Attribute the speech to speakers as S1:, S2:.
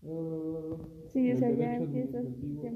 S1: Sí, o sea,
S2: el
S1: ya
S2: derecho
S1: empiezas,
S2: administrativo